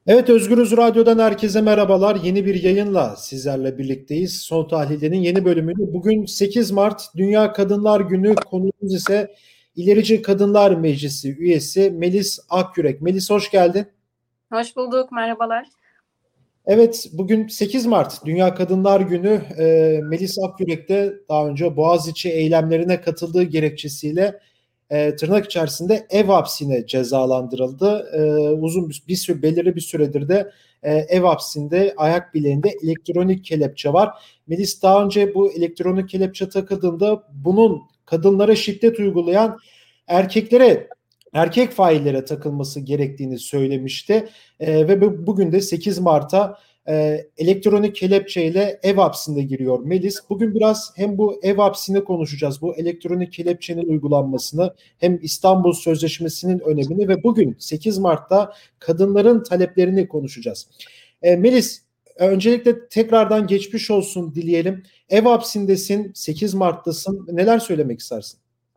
Evet, Özgürüz Radyo'dan herkese merhabalar. Yeni bir yayınla sizlerle birlikteyiz. Son Tahlil'in yeni bölümünü. Bugün 8 Mart Dünya Kadınlar Günü. Konuğumuz ise İlerici Kadınlar Meclisi üyesi Melis Akyürek. Melis, hoş geldin. Hoş bulduk, merhabalar. Evet, bugün 8 Mart Dünya Kadınlar Günü. Melis Akyürek de daha önce Boğaziçi eylemlerine katıldığı gerekçesiyle tırnak içerisinde ev hapsine cezalandırıldı. Uzun bir süre, belirli bir süredir de ev hapsinde ayak bileğinde elektronik kelepçe var. Melis daha önce bu elektronik kelepçe takıldığında bunun kadınlara şiddet uygulayan erkeklere erkek faillere takılması gerektiğini söylemişti. Ve bugün de 8 Mart'a elektronik kelepçeyle ev hapsine giriyor Melis. Bugün biraz hem bu ev hapsini konuşacağız, bu elektronik kelepçenin uygulanmasını, hem İstanbul Sözleşmesi'nin önemini ve bugün 8 Mart'ta kadınların taleplerini konuşacağız. Melis, öncelikle tekrardan geçmiş olsun dileyelim. Ev hapsindesin, 8 Mart'tasın. Neler söylemek istersin?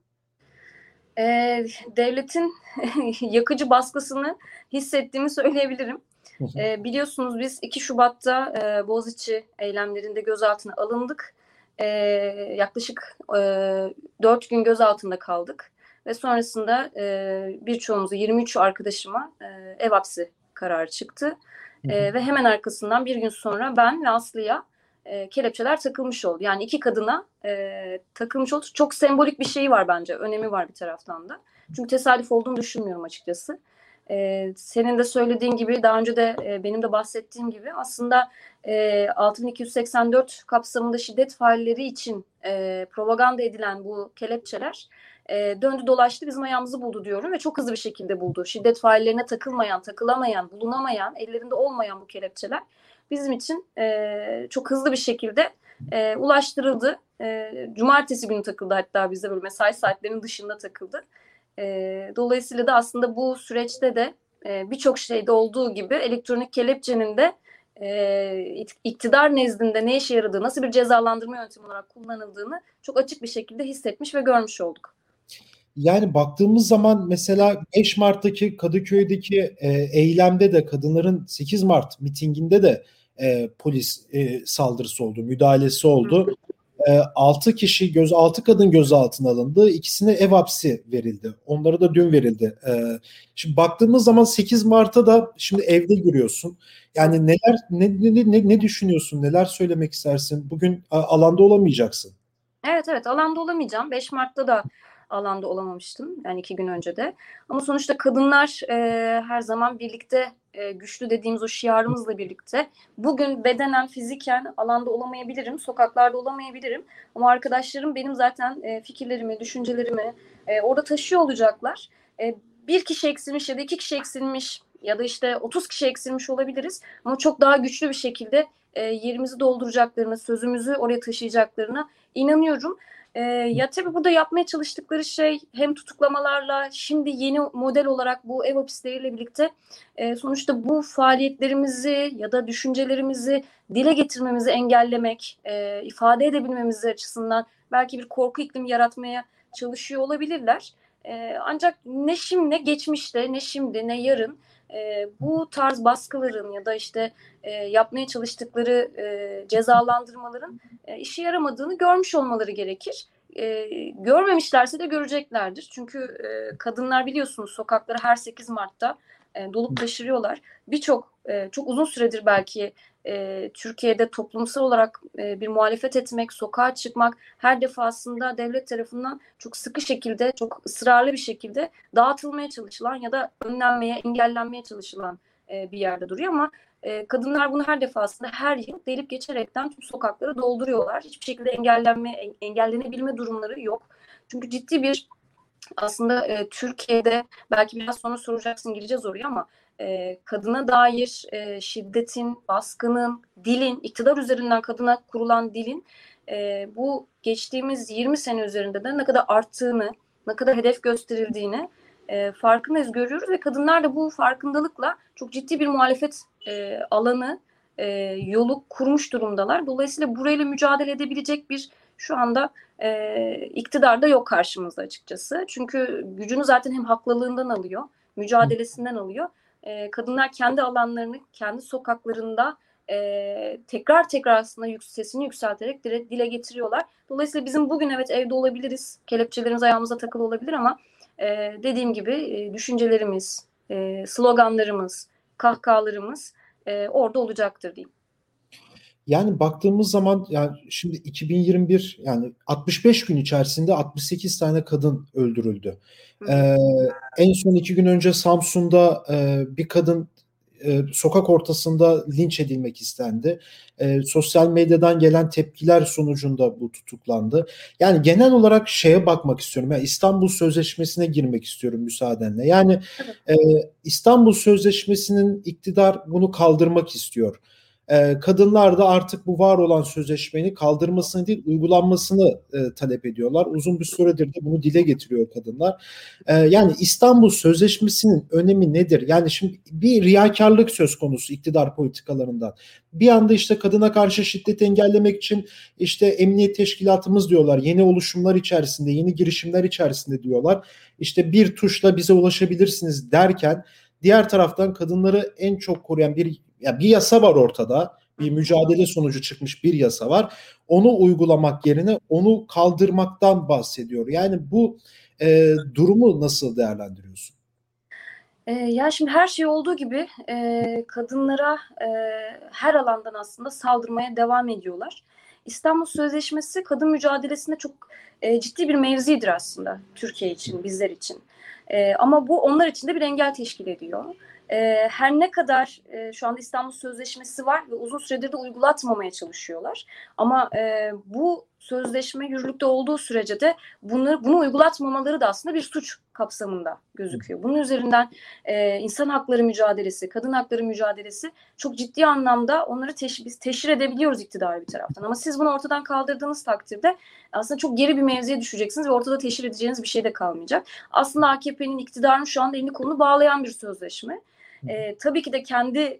Devletin yakıcı baskısını hissettiğimi söyleyebilirim. Biliyorsunuz biz 2 Şubat'ta Boğaziçi eylemlerinde gözaltına alındık. Yaklaşık 4 gün gözaltında kaldık. Ve sonrasında birçoğumuzu 23 arkadaşıma ev hapsi kararı çıktı. Ve hemen arkasından bir gün sonra ben ve Aslı'ya kelepçeler takılmış oldu. Yani 2 kadına takılmış oldu. Çok sembolik bir şeyi var bence. Önemi var bir taraftan da. Çünkü tesadüf olduğunu düşünmüyorum açıkçası. Senin de söylediğin gibi daha önce de benim de bahsettiğim gibi aslında 6284 kapsamında şiddet failleri için propaganda edilen bu kelepçeler döndü dolaştı bizim ayağımızı buldu diyorum ve çok hızlı bir şekilde buldu. Şiddet faillerine takılmayan, takılamayan, bulunamayan, ellerinde olmayan bu kelepçeler bizim için çok hızlı bir şekilde ulaştırıldı. Cumartesi günü takıldı, hatta bizde böyle mesai saatlerinin dışında takıldı. Dolayısıyla da aslında bu süreçte de birçok şeyde olduğu gibi elektronik kelepçenin de iktidar nezdinde ne işe yaradığı, nasıl bir cezalandırma yöntemi olarak kullanıldığını çok açık bir şekilde hissetmiş ve görmüş olduk. Yani baktığımız zaman mesela 5 Mart'taki Kadıköy'deki eylemde de kadınların 8 Mart mitinginde de polis saldırısı oldu, müdahalesi oldu. 6 kişi 6 kadın gözaltına alındı. İkisine ev hapsi verildi. Onlara da dün verildi. Şimdi baktığımız zaman 8 Mart'ta da şimdi evde giriyorsun. Yani ne düşünüyorsun? Neler söylemek istersin? Bugün alanda olamayacaksın. Evet, alanda olamayacağım. 5 Mart'ta da alanda olamamıştım. Yani 2 gün önce de. Ama sonuçta kadınlar her zaman birlikte güçlü dediğimiz o şiarımızla birlikte. Bugün bedenen, fiziken alanda olamayabilirim. Sokaklarda olamayabilirim. Ama arkadaşlarım benim zaten fikirlerimi, düşüncelerimi orada taşıyor olacaklar. Bir kişi eksilmiş ya da 2 kişi eksilmiş ya da işte 30 kişi eksilmiş olabiliriz. Ama çok daha güçlü bir şekilde yerimizi dolduracaklarını, sözümüzü oraya taşıyacaklarını inanıyorum. Ya tabii burada yapmaya çalıştıkları şey hem tutuklamalarla şimdi yeni model olarak bu ev hapisleriyle birlikte sonuçta bu faaliyetlerimizi ya da düşüncelerimizi dile getirmemizi engellemek, ifade edebilmemiz açısından belki bir korku iklimi yaratmaya çalışıyor olabilirler. Ancak ne şimdi, ne geçmişte, ne şimdi, ne yarın bu tarz baskıların ya da işte yapmaya çalıştıkları cezalandırmaların işe yaramadığını görmüş olmaları gerekir. Görmemişlerse de göreceklerdir. Çünkü kadınlar biliyorsunuz sokakları her 8 Mart'ta dolup taşırıyorlar. Birçok çok uzun süredir belki Türkiye'de toplumsal olarak bir muhalefet etmek, sokağa çıkmak her defasında devlet tarafından çok sıkı şekilde, çok ısrarlı bir şekilde dağıtılmaya çalışılan ya da önlenmeye, engellenmeye çalışılan bir yerde duruyor ama kadınlar bunu her defasında her yıl delip geçerekten tüm sokakları dolduruyorlar. Hiçbir şekilde engellenebilme durumları yok. Çünkü ciddi bir aslında Türkiye'de belki biraz sonra soracaksın gireceğiz oraya ama kadına dair şiddetin, baskının, dilin, iktidar üzerinden kadına kurulan dilin bu geçtiğimiz 20 sene üzerinde de ne kadar arttığını, ne kadar hedef gösterildiğini farkındayız, görüyoruz ve kadınlar da bu farkındalıkla çok ciddi bir muhalefet alanı, yolu kurmuş durumdalar. Dolayısıyla burayla mücadele edebilecek bir şu anda iktidar da yok karşımızda açıkçası. Çünkü gücünü zaten hem haklılığından alıyor, mücadelesinden alıyor. kadınlar kendi alanlarını, kendi sokaklarında tekrar tekrar aslında sesini yükselterek dile getiriyorlar. Dolayısıyla bizim bugün evet evde olabiliriz, kelepçelerimiz ayağımıza takılı olabilir ama dediğim gibi düşüncelerimiz, sloganlarımız, kahkahalarımız orada olacaktır diyeyim. Yani baktığımız zaman yani şimdi 2021 yani 65 gün içerisinde 68 tane kadın öldürüldü. Ee, En son 2 gün önce Samsun'da bir kadın sokak ortasında linç edilmek istendi. Sosyal medyadan gelen tepkiler sonucunda bu tutuklandı. Yani genel olarak şeye bakmak istiyorum. Yani İstanbul Sözleşmesi'ne girmek istiyorum müsaadenle. Yani e, İstanbul Sözleşmesi'nin iktidar bunu kaldırmak istiyor. Kadınlar da artık bu var olan sözleşmenin kaldırmasını değil uygulanmasını talep ediyorlar. Uzun bir süredir de bunu dile getiriyor kadınlar. Yani İstanbul Sözleşmesi'nin önemi nedir? Yani şimdi bir riyakarlık söz konusu iktidar politikalarından. Bir anda işte kadına karşı şiddeti engellemek için işte emniyet teşkilatımız diyorlar. Yeni oluşumlar içerisinde, yeni girişimler içerisinde diyorlar. İşte bir tuşla bize ulaşabilirsiniz derken diğer taraftan kadınları en çok koruyan bir yasa var ortada. Bir mücadele sonucu çıkmış bir yasa var. Onu uygulamak yerine onu kaldırmaktan bahsediyor. Yani bu durumu nasıl değerlendiriyorsun? Ya şimdi her şey olduğu gibi kadınlara her alandan aslında saldırmaya devam ediyorlar. İstanbul Sözleşmesi kadın mücadelesinde çok ciddi bir mevzidir aslında Türkiye için, bizler için. Ama bu onlar için de bir engel teşkil ediyor. Her ne kadar şu anda İstanbul Sözleşmesi var ve uzun süredir de uygulatmamaya çalışıyorlar. Ama bu sözleşme yürürlükte olduğu sürece de bunu uygulatmamaları da aslında bir suç kapsamında gözüküyor. Bunun üzerinden insan hakları mücadelesi, kadın hakları mücadelesi çok ciddi anlamda onları biz teşhir edebiliyoruz iktidarı bir taraftan. Ama siz bunu ortadan kaldırdığınız takdirde aslında çok geri bir mevziye düşeceksiniz ve ortada teşhir edeceğiniz bir şey de kalmayacak. Aslında AKP'nin iktidarın şu anda elini kolunu bağlayan bir sözleşme. Tabii ki de kendi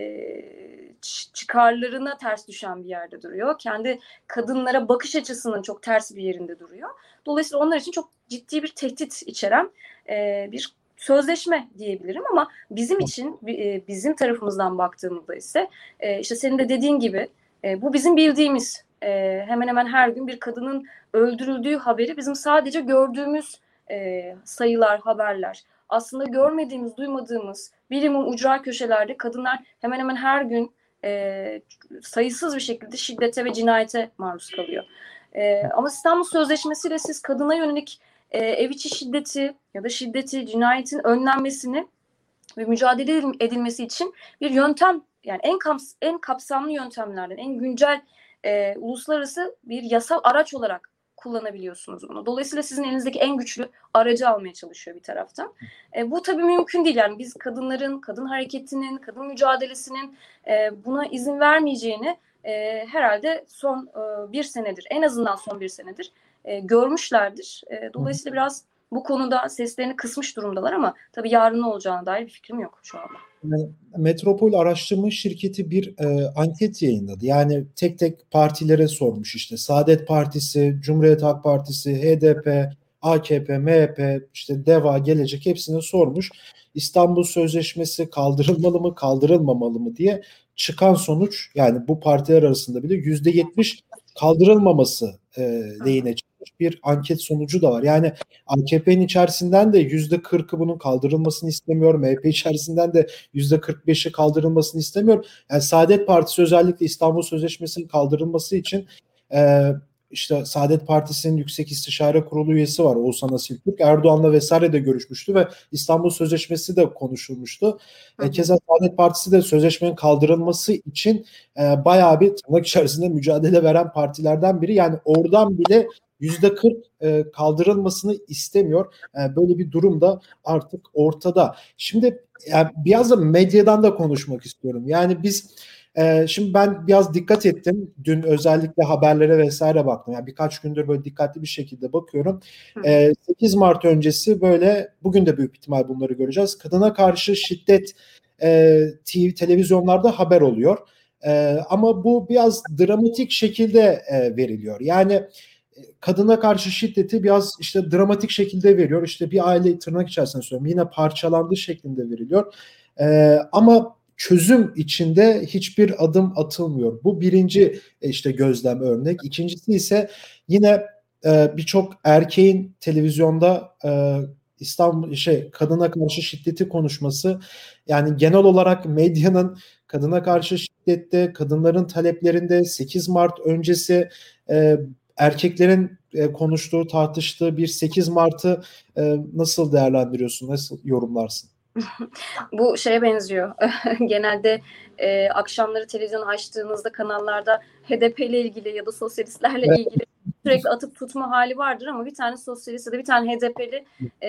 çıkarlarına ters düşen bir yerde duruyor. Kendi kadınlara bakış açısının çok ters bir yerinde duruyor. Dolayısıyla onlar için çok ciddi bir tehdit içeren bir sözleşme diyebilirim ama bizim için bizim tarafımızdan baktığımızda ise işte senin de dediğin gibi bu bizim bildiğimiz hemen hemen her gün bir kadının öldürüldüğü haberi bizim sadece gördüğümüz sayılar, haberler. Aslında görmediğimiz, duymadığımız bilimum ucra köşelerde kadınlar hemen hemen her gün sayısız bir şekilde şiddete ve cinayete maruz kalıyor. Ama İstanbul Sözleşmesi ile siz kadına yönelik ev içi şiddeti ya da şiddeti, cinayetin önlenmesini ve mücadele edilmesi için bir yöntem, yani en kapsamlı yöntemlerden, en güncel uluslararası bir yasal araç olarak kullanabiliyorsunuz bunu. Dolayısıyla sizin elinizdeki en güçlü aracı almaya çalışıyor bir taraftan. Bu tabii mümkün değil. Yani biz kadınların, kadın hareketinin, kadın mücadelesinin buna izin vermeyeceğini herhalde son bir senedir, en azından son bir senedir görmüşlerdir. Dolayısıyla biraz bu konuda seslerini kısmış durumdalar ama tabii yarın ne olacağına dair bir fikrim yok şu anda. Metropol Araştırma Şirketi bir anket yayınladı. Yani tek tek partilere sormuş işte Saadet Partisi, Cumhuriyet Halk Partisi, HDP, AKP, MHP, işte DEVA, Gelecek hepsine sormuş. İstanbul Sözleşmesi kaldırılmalı mı, kaldırılmamalı mı diye çıkan sonuç yani bu partiler arasında bile %70 kaldırılmaması lehine çıkmış bir anket sonucu da var. Yani AKP'nin içerisinden de %40'ı bunun kaldırılmasını istemiyor. MHP içerisinden de %45'i kaldırılmasını istemiyor. Yani Saadet Partisi özellikle İstanbul Sözleşmesi'nin kaldırılması için işte Saadet Partisi'nin Yüksek İstişare Kurulu üyesi var Oğuzhan Asiltürk. Erdoğan'la vesaire de görüşmüştü ve İstanbul Sözleşmesi de konuşulmuştu. Keza Saadet Partisi de sözleşmenin kaldırılması için bayağı bir tırnak içerisinde mücadele veren partilerden biri. Yani oradan bile %40 kaldırılmasını istemiyor. Böyle bir durum da artık ortada. Şimdi yani biraz da medyadan da konuşmak istiyorum. Yani biz şimdi ben biraz dikkat ettim. Dün özellikle haberlere vesaire baktım. Yani birkaç gündür böyle dikkatli bir şekilde bakıyorum. 8 Mart öncesi böyle bugün de büyük ihtimal bunları göreceğiz. Kadına karşı şiddet televizyonlarda haber oluyor. Ama bu biraz dramatik şekilde veriliyor. Yani kadına karşı şiddeti biraz işte dramatik şekilde veriyor. İşte bir aile tırnak içerisinde söylüyorum yine parçalandığı şeklinde veriliyor. Ama çözüm içinde hiçbir adım atılmıyor. Bu birinci işte gözlem örnek. İkincisi ise yine birçok erkeğin televizyonda İstanbul kadına karşı şiddeti konuşması, yani genel olarak medyanın kadına karşı şiddette, kadınların taleplerinde 8 Mart öncesi e, erkeklerin konuştuğu, tartıştığı bir 8 Mart'ı nasıl değerlendiriyorsun, nasıl yorumlarsın? Bu şeye benziyor. Genelde akşamları televizyon açtığınızda kanallarda HDP ile ilgili ya da sosyalistlerle Evet. ilgili sürekli atıp tutma hali vardır ama bir tane sosyalist ya da bir tane HDP'li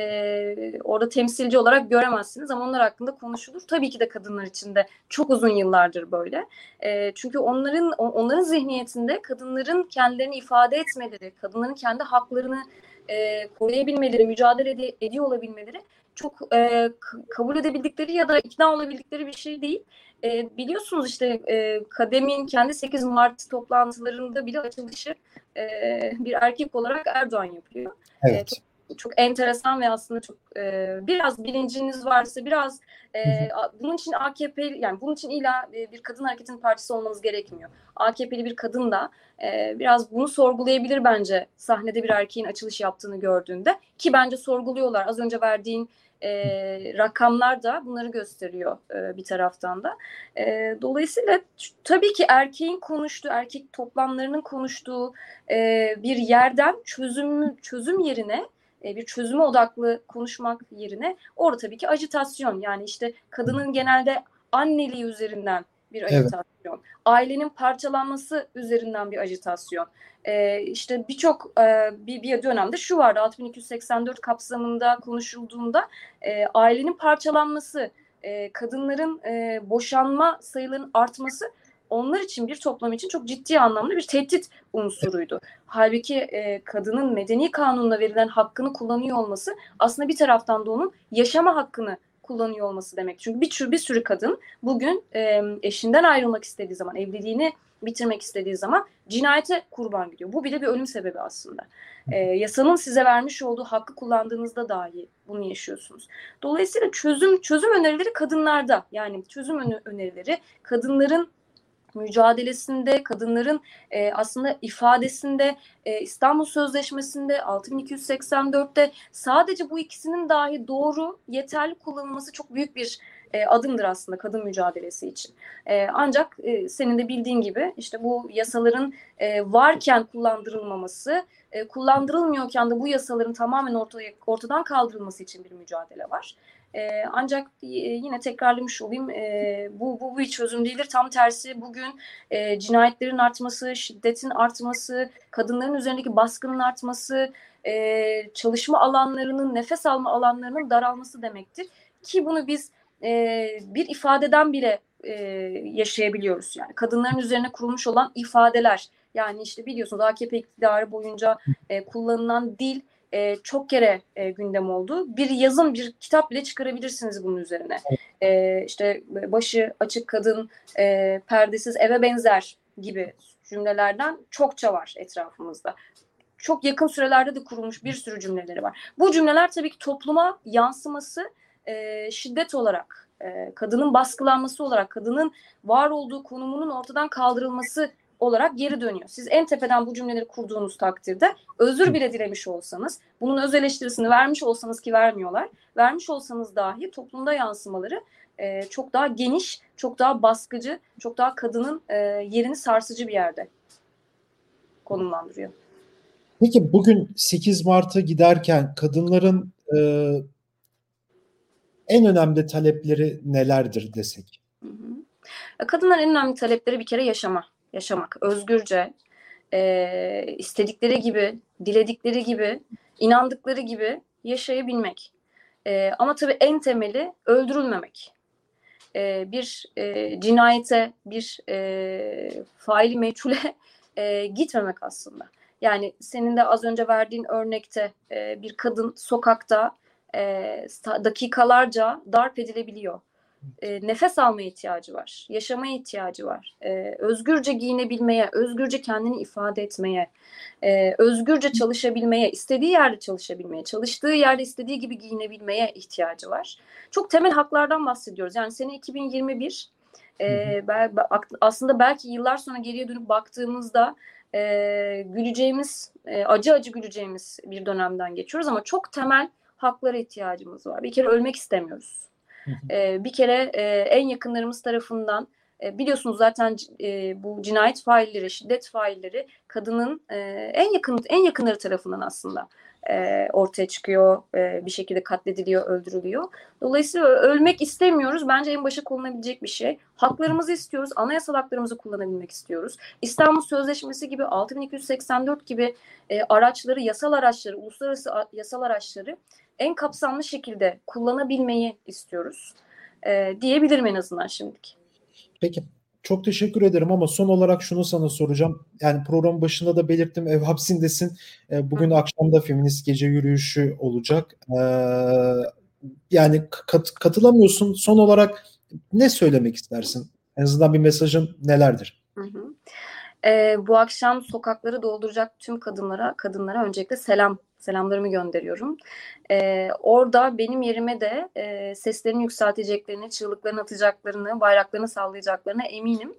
orada temsilci olarak göremezsiniz ama onlar hakkında konuşulur. Tabii ki de kadınlar için de çok uzun yıllardır böyle. Çünkü onların zihniyetinde kadınların kendilerini ifade etmeleri, kadınların kendi haklarını koruyabilmeleri, mücadele ediyor olabilmeleri çok kabul edebildikleri ya da ikna olabildikleri bir şey değil. Biliyorsunuz işte Kadem'in kendi 8 Mart toplantılarında bile açılışı bir erkek olarak Erdoğan yapıyor. Evet. Çok enteresan ve aslında çok biraz bilinciniz varsa biraz bunun için AKP, yani bunun için illa bir kadın hareketinin partisi olmanız gerekmiyor. AKP'li bir kadın da biraz bunu sorgulayabilir bence sahnede bir erkeğin açılış yaptığını gördüğünde, ki bence sorguluyorlar. Az önce verdiğin rakamlar da bunları gösteriyor bir taraftan da. Dolayısıyla tabii ki erkeğin konuştuğu, erkek toplamlarının konuştuğu bir yerden çözüm yerine bir çözüme odaklı konuşmak yerine orada tabii ki ajitasyon, yani işte kadının genelde anneliği üzerinden bir ajitasyon, evet, ailenin parçalanması üzerinden bir ajitasyon. İşte birçok bir dönemde şu vardı, 6284 kapsamında konuşulduğunda ailenin parçalanması, kadınların boşanma sayılarının artması onlar için, bir toplum için çok ciddi anlamda bir tehdit unsuruydu. Halbuki kadının medeni kanunla verilen hakkını kullanıyor olması aslında bir taraftan da onun yaşama hakkını kullanıyor olması demek. Çünkü bir sürü kadın bugün eşinden ayrılmak istediği zaman, evliliğini bitirmek istediği zaman cinayete kurban gidiyor. Bu bile bir ölüm sebebi aslında. Yasanın size vermiş olduğu hakkı kullandığınızda dahi bunu yaşıyorsunuz. Dolayısıyla çözüm önerileri kadınlarda. Yani çözüm önerileri kadınların mücadelesinde, kadınların aslında ifadesinde, İstanbul Sözleşmesi'nde, 6284'te sadece bu ikisinin dahi doğru, yeterli kullanılması çok büyük bir adımdır aslında kadın mücadelesi için. Ancak senin de bildiğin gibi işte bu yasaların varken kullandırılmaması, kullandırılmıyorken de bu yasaların tamamen ortadan kaldırılması için bir mücadele var. Ancak yine tekrarlamış olayım, bu bir çözüm değildir. Tam tersi, bugün cinayetlerin artması, şiddetin artması, kadınların üzerindeki baskının artması, çalışma alanlarının, nefes alma alanlarının daralması demektir. Ki bunu biz bir ifadeden bile yaşayabiliyoruz. Yani kadınların üzerine kurulmuş olan ifadeler. Yani işte biliyorsunuz AKP iktidarı boyunca kullanılan dil çok kere gündem oldu. Bir yazın, bir kitap bile çıkarabilirsiniz bunun üzerine. İşte başı açık kadın, perdesiz eve benzer gibi cümlelerden çokça var etrafımızda. Çok yakın sürelerde de kurulmuş bir sürü cümleleri var. Bu cümleler tabii ki topluma yansıması şiddet olarak, kadının baskılanması olarak, kadının var olduğu konumunun ortadan kaldırılması olarak geri dönüyor. Siz en tepeden bu cümleleri kurduğunuz takdirde özür bile dilemiş olsanız, bunun öz eleştirisini vermiş olsanız, ki vermiyorlar, vermiş olsanız dahi toplumda yansımaları çok daha geniş, çok daha baskıcı, çok daha kadının yerini sarsıcı bir yerde konumlandırıyor. Peki bugün 8 Mart'a giderken kadınların en önemli talepleri nelerdir desek? Kadınların en önemli talepleri bir kere yaşamak, özgürce, istedikleri gibi, diledikleri gibi, inandıkları gibi yaşayabilmek. Ama tabii en temeli öldürülmemek. Bir cinayete, bir faili meçhule gitmemek aslında. Yani senin de az önce verdiğin örnekte bir kadın sokakta dakikalarca darp edilebiliyor. nefes almaya ihtiyacı var, yaşamaya ihtiyacı var, özgürce giyinebilmeye, özgürce kendini ifade etmeye, özgürce çalışabilmeye, istediği yerde çalışabilmeye, çalıştığı yerde istediği gibi giyinebilmeye ihtiyacı var. Çok temel haklardan bahsediyoruz. Yani sene 2021, aslında belki yıllar sonra geriye dönüp baktığımızda güleceğimiz, acı acı güleceğimiz bir dönemden geçiyoruz ama çok temel haklara ihtiyacımız var. Bir kere ölmek istemiyoruz. Bir kere en yakınlarımız tarafından biliyorsunuz zaten bu cinayet failleri, şiddet failleri kadının en yakınları tarafından aslında ortaya çıkıyor, bir şekilde katlediliyor, öldürülüyor. Dolayısıyla ölmek istemiyoruz. Bence en başa konulabilecek bir şey. Haklarımızı istiyoruz. Anayasal haklarımızı kullanabilmek istiyoruz. İstanbul Sözleşmesi gibi 6284 gibi araçları, yasal araçları, uluslararası yasal araçları en kapsamlı şekilde kullanabilmeyi istiyoruz. Diyebilirim en azından şimdilik. Peki. Çok teşekkür ederim ama son olarak şunu sana soracağım. Yani programın başında da belirttim, ev hapsindesin. Bugün akşam da feminist gece yürüyüşü olacak. Yani katılamıyorsun. Son olarak ne söylemek istersin? En azından bir mesajın nelerdir? Bu akşam sokakları dolduracak tüm kadınlara öncelikle selamlarımı gönderiyorum. Orada benim yerime de seslerini yükselteceklerini, çığlıklarını atacaklarını, bayraklarını sallayacaklarına eminim.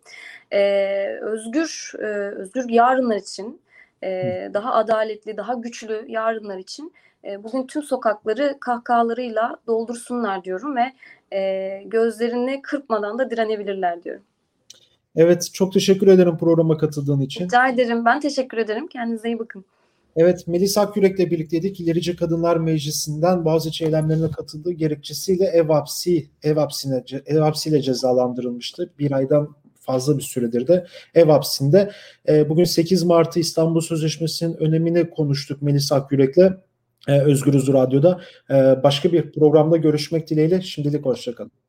Özgür yarınlar için, daha adaletli, daha güçlü yarınlar için bugün tüm sokakları kahkahalarıyla doldursunlar diyorum ve gözlerini kırpmadan da direnebilirler diyorum. Evet, çok teşekkür ederim programa katıldığın için. Rica ederim. Ben teşekkür ederim. Kendinize iyi bakın. Evet, Melis Akyürek'le birlikteydik. İlerici Kadınlar Meclisi'nden Boğaziçi eylemlerine katıldığı gerekçesiyle ev hapsiyle cezalandırılmıştı. Bir aydan fazla bir süredir de ev hapsinde. Bugün 8 Mart'ı İstanbul Sözleşmesi'nin önemini konuştuk Melis Akyürek'le Özgürüz Radyo'da. Başka bir programda görüşmek dileğiyle. Şimdilik hoşça kalın.